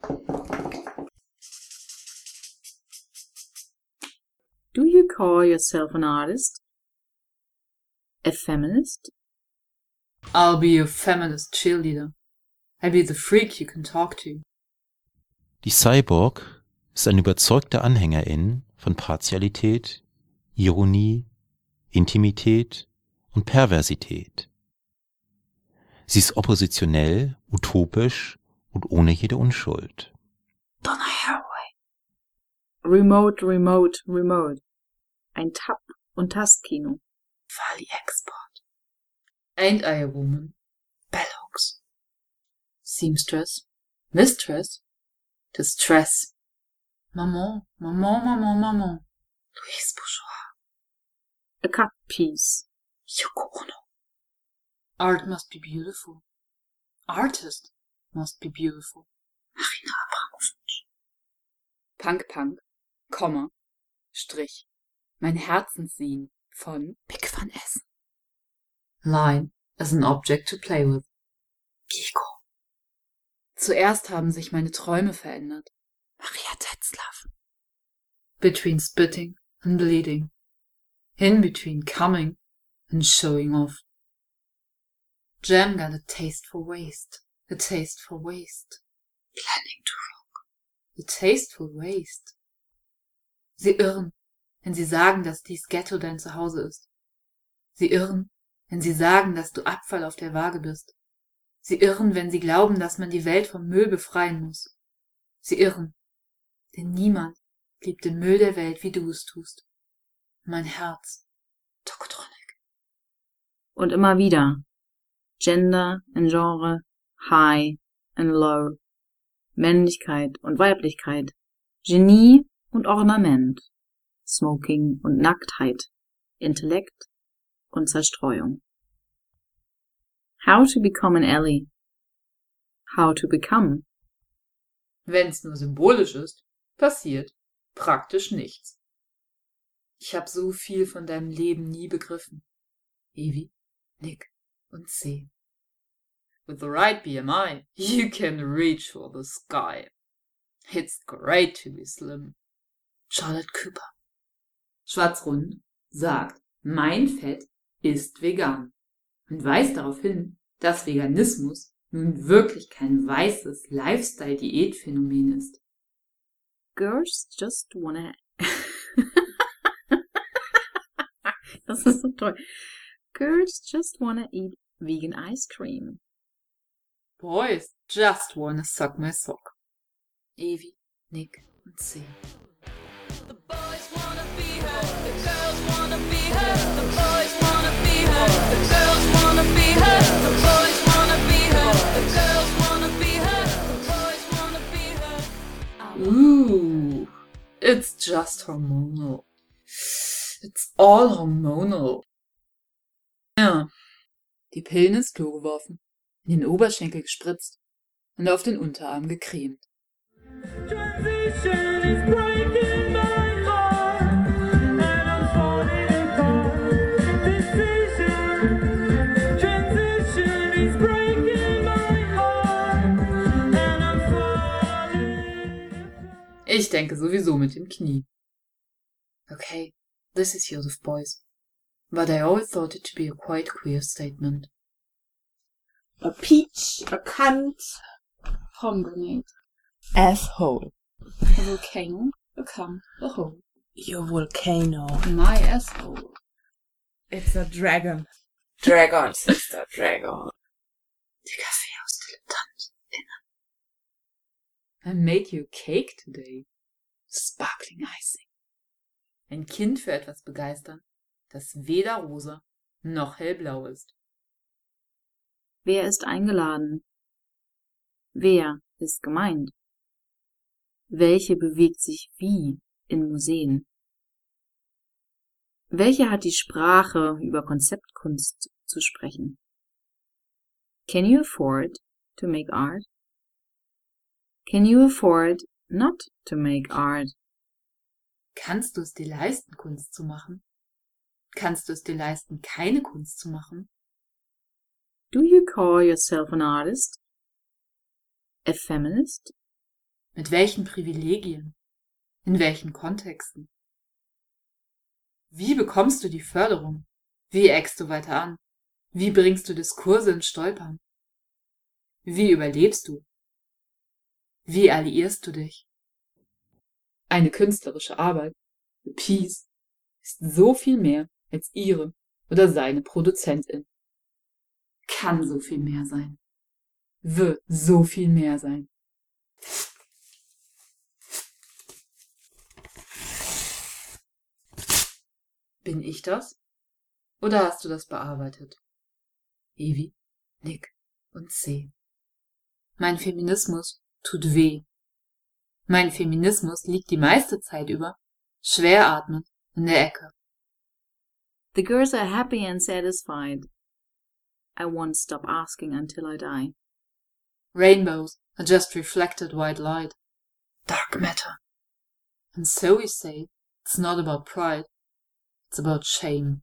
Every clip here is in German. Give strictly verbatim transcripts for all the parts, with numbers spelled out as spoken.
Do you call yourself an artist? A feminist? I'll be your feminist cheerleader. I'll be the freak you can talk to. Die Cyborg ist eine überzeugte Anhängerin von Partialität, Ironie, Intimität und Perversität. Sie ist oppositionell, utopisch und ohne jede Unschuld. Donna Haraway. Remote, remote, remote. Ein Tab- und Tastkino. Wally Export. Ain't I a woman? Bell hooks. Seamstress. Mistress. Distress. Maman, maman, maman, maman. Louise Bourgeois. A cut piece. Yoko Ono. Art must be beautiful. Artist must be beautiful. Marina Abramovic. Punk Punk, Komma, Strich. Mein Herzenssehen von Pick van Essen. Line as an object to play with. Gigo. Zuerst haben sich meine Träume verändert. Maria Tetzlaff. Between spitting and bleeding. In between coming and showing off. Jam got a taste for waste. A taste for waste. Planning to rock. A taste for waste. Sie irren, wenn sie sagen, dass dies Ghetto dein Zuhause ist. Sie irren, wenn sie sagen, dass du Abfall auf der Waage bist. Sie irren, wenn sie glauben, dass man die Welt vom Müll befreien muss. Sie irren, denn niemand liebt den Müll der Welt, wie du es tust. Mein Herz. Tokotronic. Und immer wieder. Gender and Genre, High and Low. Männlichkeit und Weiblichkeit. Genie und Ornament. Smoking und Nacktheit. Intellekt und Zerstreuung. How to become an ally. How to become. Wenn's nur symbolisch ist, passiert praktisch nichts. Ich hab so viel von deinem Leben nie begriffen. Evi, Nick und C. With the right B M I, you can reach for the sky. It's great to be slim. Charlotte Cooper. Schwarzrund sagt, mein Fett ist vegan und weist darauf hin, dass Veganismus nun wirklich kein weißes Lifestyle-Diätphänomen ist. Girls just wanna... Das ist so toll. Girls just wanna eat vegan ice cream. Boys just wanna suck my sock. Evi, Nick und C. The boys wanna be her, the girls wanna be her, the boys wanna be her, the girls wanna be her, the boys wanna be her, the girls wanna be her, the boys wanna be her. Ooh, it's just hormonal. It's all hormonal. Ja, die Pillen ins Klo geworfen, in den Oberschenkel gespritzt und auf den Unterarm gecremt. Transition is breaking my heart, and I'm falling apart. Decision, transition is breaking my heart, and I'm falling apart. Ich denke sowieso mit dem Knie. Okay, this is Joseph Beuys, but I always thought it to be a quite queer statement. A peach, a cunt, Pomegranate, asshole. a volcano, a cum, a hole. Your volcano. My asshole. It's a dragon. Dragon, sister, dragon. Die Kaffeehaus-DilettantInnen. I made you a cake today. Sparkling icing. Ein Kind für etwas begeistern, das weder rosa noch hellblau ist. Wer ist eingeladen? Wer ist gemeint? Welche bewegt sich wie in Museen? Welche hat die Sprache, über Konzeptkunst zu sprechen? Can you afford to make art? Can you afford not to make art? Kannst du es dir leisten, Kunst zu machen? Kannst du es dir leisten, keine Kunst zu machen? Do you call yourself an artist? A feminist? Mit welchen Privilegien? In welchen Kontexten? Wie bekommst du die Förderung? Wie eckst du weiter an? Wie bringst du Diskurse ins Stolpern? Wie überlebst du? Wie alliierst du dich? Eine künstlerische Arbeit, The Piece, ist so viel mehr als ihre oder seine Produzentin. Kann so viel mehr sein. Wird so viel mehr sein. Bin ich das? Oder hast du das bearbeitet? Evi, Nick und C. Mein Feminismus tut weh. Mein Feminismus liegt die meiste Zeit über, schwer atmend, in der Ecke. The girls are happy and satisfied. I won't stop asking until I die. Rainbows are just reflected white light. Dark matter. And so we say, it's not about pride, it's about shame.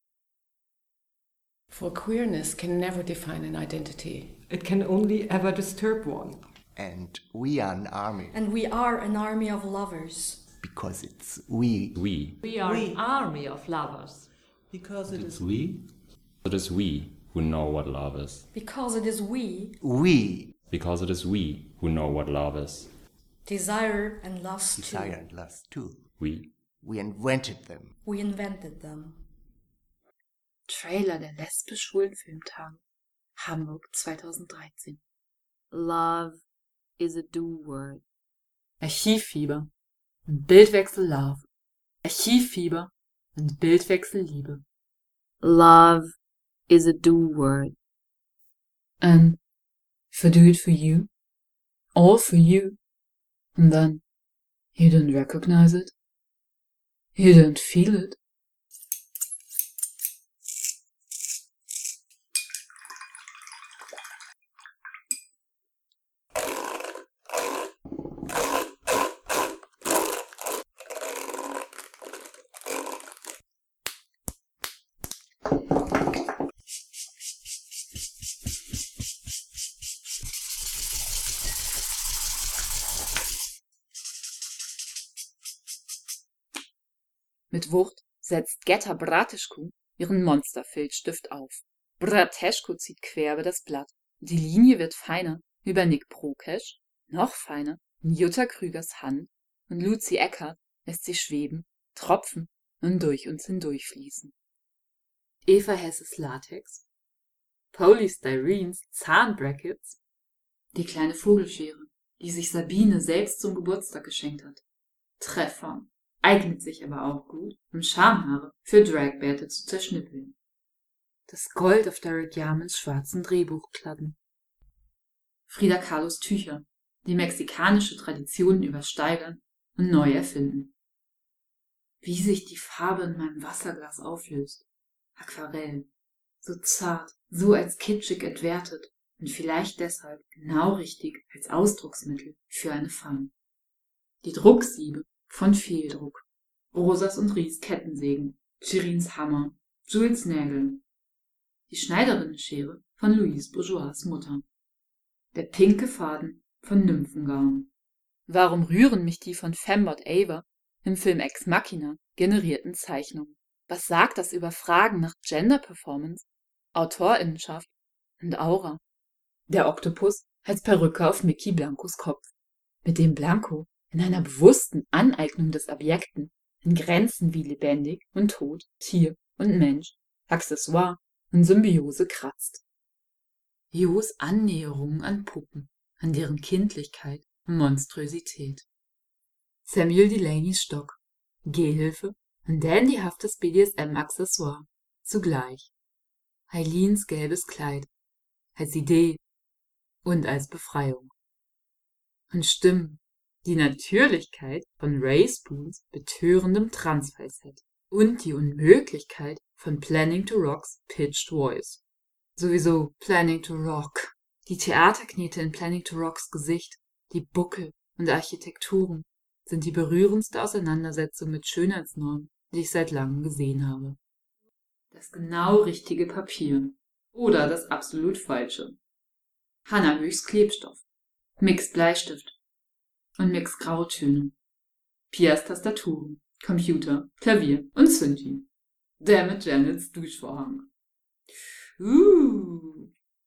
For queerness can never define an identity. It can only ever disturb one. And we are an army. And we are an army of lovers. Because it's we. We. We are we. An army of lovers. Because it it's is we. It is we who know what love is. Because it is we. We. Because it is we who know what love is. Desire and lust Desire too. Desire and lust too. We. We invented them. We invented them. Trailer der lesbisch-schwulen Filmtage. Hamburg zweitausenddreizehn. Love is a do-word. Archivfieber und Bildwechsel Love. Archivfieber und Bildwechsel Liebe. Love is a do-word. And if I do it for you, all for you, and then you don't recognize it, you don't feel it. Mit Wucht setzt Getta Brateschko ihren Monsterfilzstift auf. Brateschko zieht quer über das Blatt. Die Linie wird feiner über Nick Prokesch, noch feiner in Jutta Krügers Hand und Lucy Eckert lässt sie schweben, tropfen und durch uns hindurchfließen. Eva Hesses Latex, Polystyreens Zahnbrackets, die kleine Vogelschere, die sich Sabine selbst zum Geburtstag geschenkt hat. Treffer. Eignet sich aber auch gut, um Schamhaare für Dragbärte zu zerschnippeln. Das Gold auf Derek Yarmans schwarzen Drehbuchklappen. Frida Kahlos Tücher, die mexikanische Traditionen übersteigern und neu erfinden. Wie sich die Farbe in meinem Wasserglas auflöst. Aquarell. So zart, so als kitschig entwertet und vielleicht deshalb genau richtig als Ausdrucksmittel für eine Femme. Die Drucksiebe von Fehldruck, Rosas und Ries Kettensägen, Chirins Hammer, Jules Nägel, die Schneiderinnenschere von Louise Bourgeois Mutter, der pinke Faden von Nymphengaun. Warum rühren mich die von Fembot Ava im Film Ex Machina generierten Zeichnungen? Was sagt das über Fragen nach Gender Performance, Autorinnenschaft und Aura? Der Oktopus als Perücke auf Mickey Blancos Kopf, mit dem Blanco in einer bewussten Aneignung des Objekten in Grenzen wie lebendig und tot, Tier und Mensch, Accessoire und Symbiose kratzt. Jos Annäherungen an Puppen, an deren Kindlichkeit und Monströsität. Samuel Delaneys Stock, Gehhilfe und dandyhaftes B D S M-Accessoire, zugleich. Eileens gelbes Kleid, als Idee und als Befreiung. Und Stimmen, die Natürlichkeit von Ray Spoons betörendem Transfalsett und die Unmöglichkeit von Planning to Rocks Pitched Voice. Sowieso Planning to Rock. Die Theaterknete in Planning to Rocks Gesicht, die Buckel und Architekturen sind die berührendste Auseinandersetzung mit Schönheitsnormen, die ich seit langem gesehen habe. Das genau richtige Papier oder das absolut falsche. Hannah Höchst Klebstoff, Mixed Bleistift, und mixt graue Töne. Piers Tastaturen, Computer, Klavier und Synthi. Der mit Janets Duschvorhang. Uh.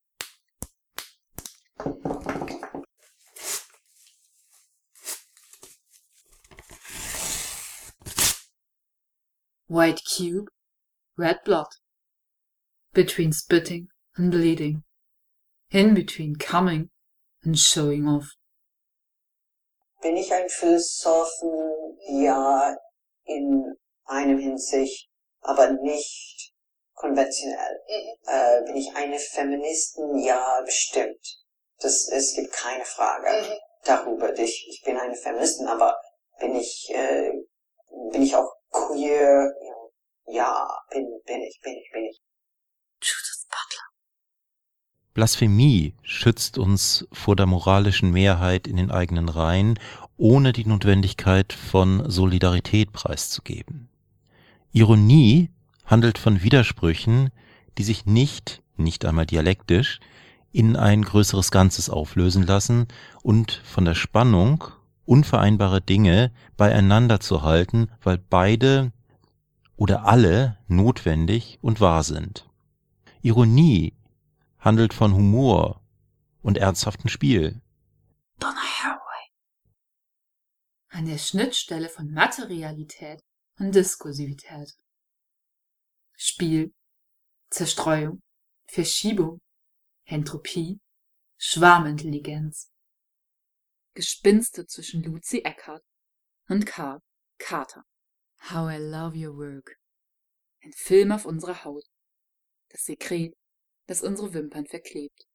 White cube, red blood. Between spitting and bleeding. In between coming and showing off. Bin ich ein Philosophen? Ja, in einem Hinsicht, aber nicht konventionell. Äh, bin ich eine Feministin? Ja, bestimmt. Das, es gibt keine Frage darüber. Ich, ich bin eine Feministin, aber bin ich, äh, bin ich auch queer? Ja, bin, bin ich, bin ich, bin ich. Judith Butler. Blasphemie schützt uns vor der moralischen Mehrheit in den eigenen Reihen, ohne die Notwendigkeit von Solidarität preiszugeben. Ironie handelt von Widersprüchen, die sich nicht, nicht einmal dialektisch, in ein größeres Ganzes auflösen lassen und von der Spannung, unvereinbare Dinge beieinander zu halten, weil beide oder alle notwendig und wahr sind. Ironie handelt von Humor und ernsthaftem Spiel. Donna Haraway. An der Schnittstelle von Materialität und Diskursivität. Spiel, Zerstreuung, Verschiebung, Entropie, Schwarmintelligenz. Gespinste zwischen Lucy Eckhardt und Karl Carter. How I love your work. Ein Film auf unserer Haut. Das Sekret, das unsere Wimpern verklebt.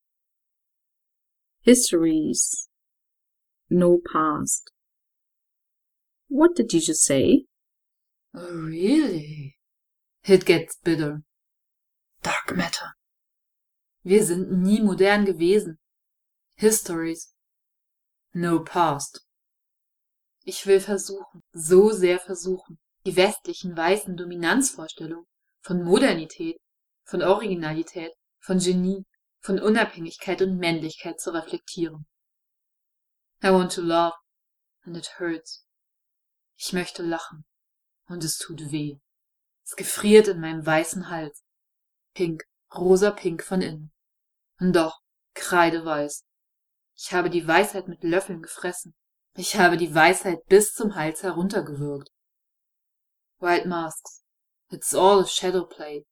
Histories. No past. What did you just say? Oh, really? It gets bitter. Dark matter. Wir sind nie modern gewesen. Histories. No past. Ich will versuchen, so sehr versuchen, die westlichen weißen Dominanzvorstellungen von Modernität, von Originalität, von Genie, von Unabhängigkeit und Männlichkeit zu reflektieren. I want to love, and it hurts. Ich möchte lachen, und es tut weh. Es gefriert in meinem weißen Hals. Pink, rosa-pink von innen. Und doch, kreideweiß. Ich habe die Weisheit mit Löffeln gefressen. Ich habe die Weisheit bis zum Hals heruntergewürgt. White masks. It's all a shadow play.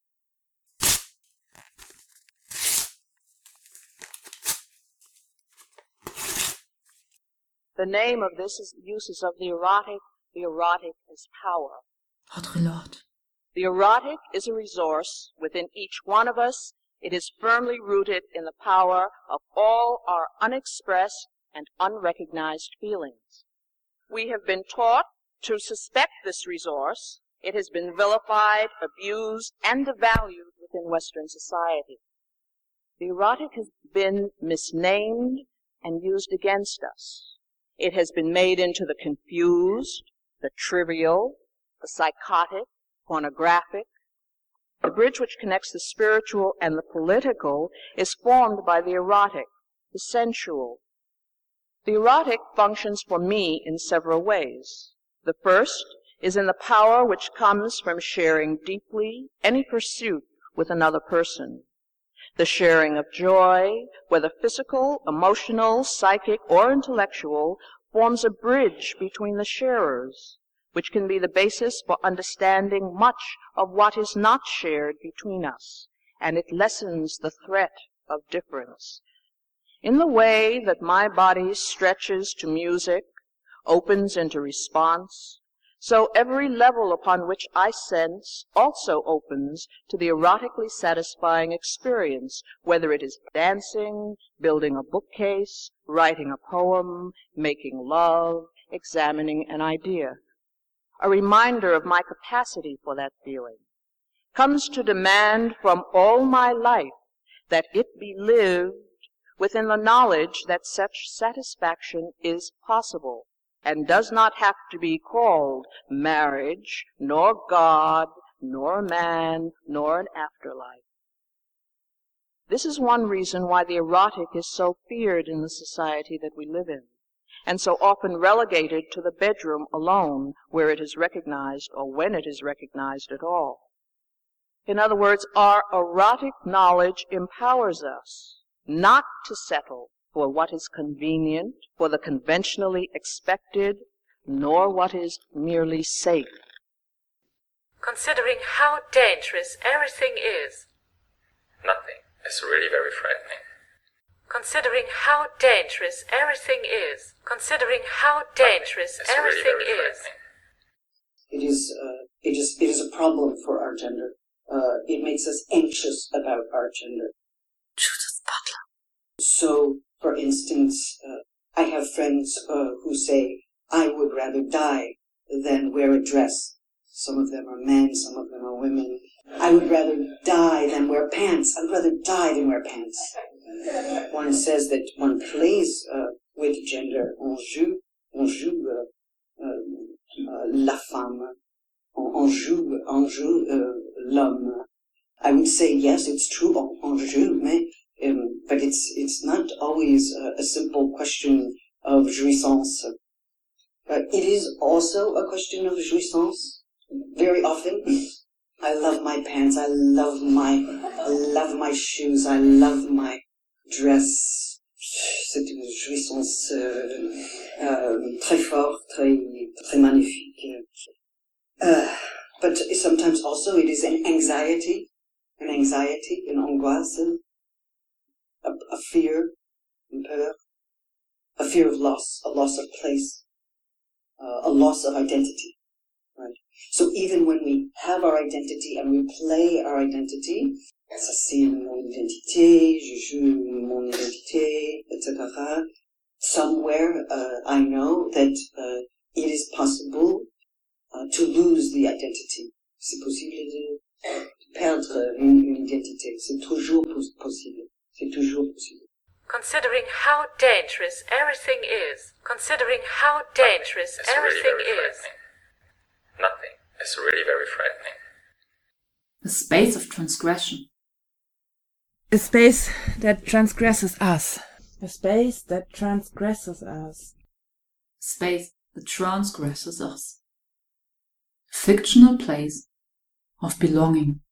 The name of this is uses of the erotic. The erotic is power. Audre Lorde. The erotic is a resource within each one of us. It is firmly rooted in the power of all our unexpressed and unrecognized feelings. We have been taught to suspect this resource. It has been vilified, abused, and devalued within Western society. The erotic has been misnamed and used against us. It has been made into the confused, the trivial, the psychotic, pornographic. The bridge which connects the spiritual and the political is formed by the erotic, the sensual. The erotic functions for me in several ways. The first is in the power which comes from sharing deeply any pursuit with another person. The sharing of joy, whether physical, emotional, psychic, or intellectual, forms a bridge between the sharers, which can be the basis for understanding much of what is not shared between us, and it lessens the threat of difference. In the way that my body stretches to music, opens into response, so every level upon which I sense also opens to the erotically satisfying experience, whether it is dancing, building a bookcase, writing a poem, making love, examining an idea. A reminder of my capacity for that feeling comes to demand from all my life that it be lived within the knowledge that such satisfaction is possible and does not have to be called marriage, nor God, nor man, nor an afterlife. This is one reason why the erotic is so feared in the society that we live in. and so often relegated to the bedroom alone, where it is recognized or when it is recognized at all. In other words, our erotic knowledge empowers us not to settle for what is convenient, for the conventionally expected, nor what is merely safe. Considering how dangerous everything is. Nothing is really very frightening. Considering how dangerous everything is. Considering how dangerous It's really everything very is. It is, uh, it is, it is a problem for our gender. Uh, it makes us anxious about our gender. Judith Butler. So, for instance, uh, I have friends uh, who say, I would rather die than wear a dress. Some of them are men, some of them are women. I would rather die than wear pants. I would rather die than wear pants. One says that one plays uh, with gender. On joue, on joue uh, uh, uh, la femme. On, on joue, on joue uh, l'homme. I would say yes, it's true. On, on joue, mais, um, but it's it's not always uh, a simple question of jouissance. Uh, it is also a question of jouissance. Very often, I love my pants. I love my, I love my shoes. I love my dress. C'est une jouissance euh, euh, très forte, très très magnifique. Uh, but sometimes also it is an anxiety, an anxiety, an angoisse, a, a fear, une peur, a fear of loss, a loss of place, uh, a loss of identity. Right. So even when we have our identity and we play our identity, ça c'est mon identité, je joue mon identité, et cetera. Somewhere uh, I know that uh, it is possible uh, to lose the identity. C'est possible de perdre une, une identité. C'est toujours pos- possible. C'est toujours possible. Considering how dangerous everything is. Considering how dangerous It's really everything very is. frightening. Nothing is really very frightening. A space of transgression. A space that transgresses us. A space that transgresses us. Space that transgresses us. A fictional place of belonging.